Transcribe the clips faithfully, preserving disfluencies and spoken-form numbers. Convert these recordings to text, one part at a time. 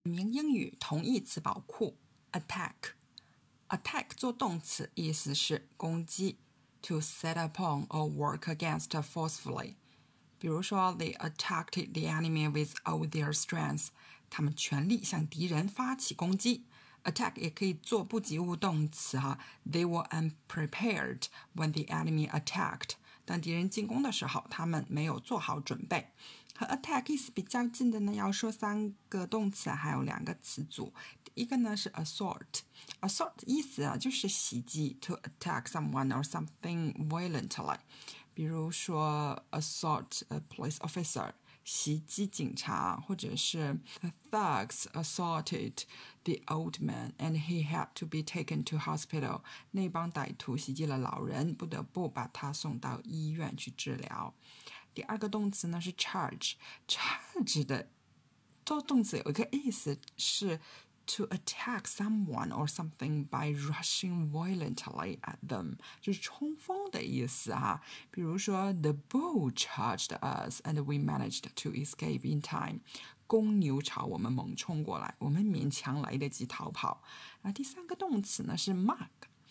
名英语同义词宝库 attack attack 做动词意思是攻击 to set upon or work against forcefully 比如说 they attacked the enemy with all their strength 他们全力向敌人发起攻击 attack 也可以做不及物动词哈 they were unprepared when the enemy attacked 当敌人进攻的时候他们没有做好准备和 attack 意思比较近的呢要说三个动词还有两个词组第一个呢是 assault assault 意思啊就是袭击 to attack someone or something violently 比如说 assault a police officer 袭击警察或者是 the thugs assaulted the old man and he had to be taken to hospital 那帮歹徒袭击了老人不得不把他送到医院去治疗第二个动词呢是 charge charge 的做动词有一个意思是 to attack someone or something by rushing violently at them 就是冲锋的意思哈比如说 the bull charged us and we managed to escape in time 公牛朝我们猛冲过来我们勉强来得及逃跑那第三个动词呢是 mug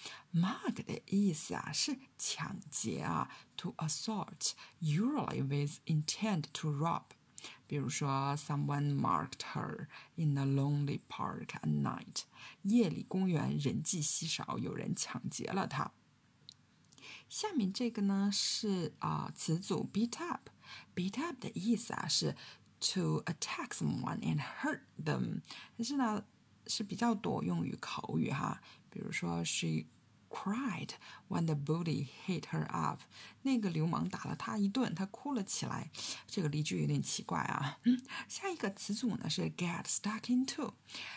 mug 的意思啊是抢劫啊 to assault usually with intent to rob 比如说 someone marked her in a lonely park at night 夜里公园人迹稀少有人抢劫了她下面这个呢是啊、呃、词组 beat up beat up 的意思啊是 to attack someone and hurt them 但是呢是比较多用于口语哈比如说 she cried when the bully hit her up 那个流氓打了她一顿她哭了起来这个例句有点奇怪啊下一个词组呢是 get stuck into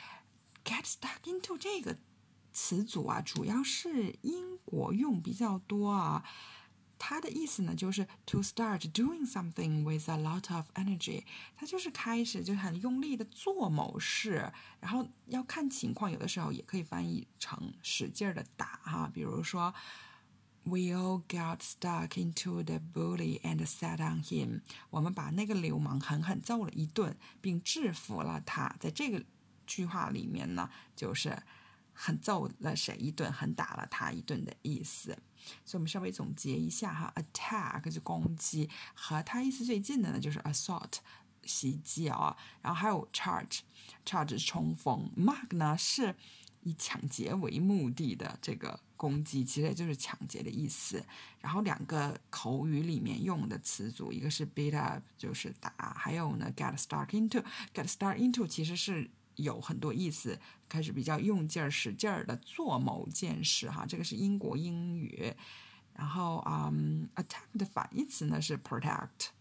get stuck into 这个词组啊主要是英国用比较多啊它的意思呢就是 to start doing something with a lot of energy 它就是开始就很用力的做某事然后要看情况有的时候也可以翻译成使劲的打哈比如说 we all got stuck into the bully and sat on him 我们把那个流氓狠狠揍了一顿并制服了他在这个句话里面呢就是很揍了谁一顿很打了他一顿的意思所以我们稍微总结一下哈 attack 是攻击和它意思最近的呢就是 assault 袭击啊然后还有 charge charge 是冲锋 mug 呢是以抢劫为目的的这个攻击其实也就是抢劫的意思然后两个口语里面用的词组一个是 beat up 就是打还有呢 get stuck into get stuck into 其实是有很多意思开始比较用劲儿使劲儿的做某件事哈这个是英国英语然后、um, attack 的反义词呢是 protect